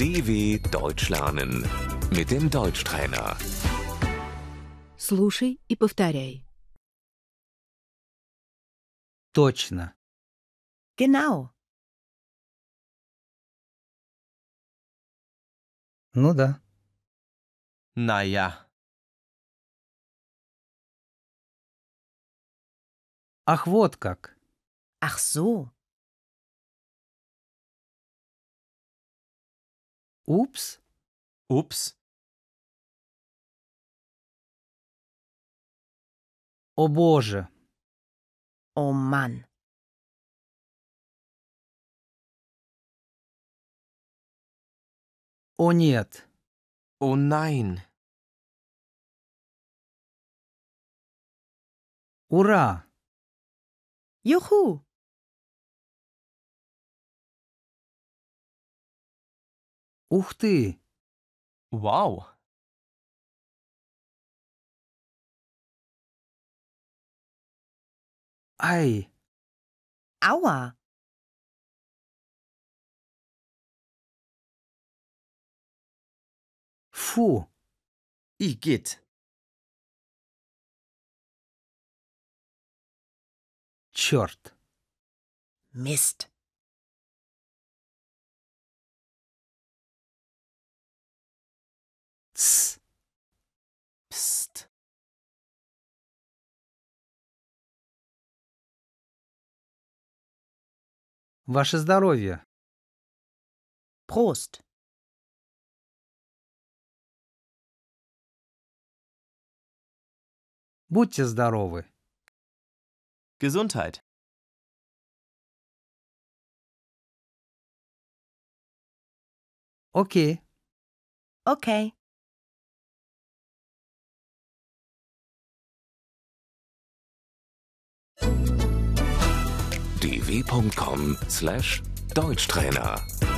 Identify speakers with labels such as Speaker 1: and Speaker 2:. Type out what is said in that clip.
Speaker 1: DW Deutsch lernen mit dem Deutschtrainer.
Speaker 2: Слушай и повторяй.
Speaker 3: Точно.
Speaker 4: Genau.
Speaker 3: Ну да.
Speaker 5: Naja,
Speaker 3: Ах, вот как.
Speaker 4: Ach so.
Speaker 3: Упс.
Speaker 5: ups,
Speaker 3: О боже.
Speaker 4: Oh Mann.
Speaker 3: О нет.
Speaker 5: oh nein,
Speaker 3: Ура.
Speaker 4: Juhu.
Speaker 3: Ух ты.
Speaker 5: wow,
Speaker 3: Ай.
Speaker 4: Aua.
Speaker 3: Фу.
Speaker 5: igitt,
Speaker 3: Черт.
Speaker 4: Mist.
Speaker 3: Тсс.
Speaker 5: pst,
Speaker 3: Ваше здоровье.
Speaker 4: Prost.
Speaker 3: Будьте здоровы.
Speaker 5: Gesundheit.
Speaker 3: Окей.
Speaker 4: Okay.
Speaker 1: dw.com/Deutschtrainer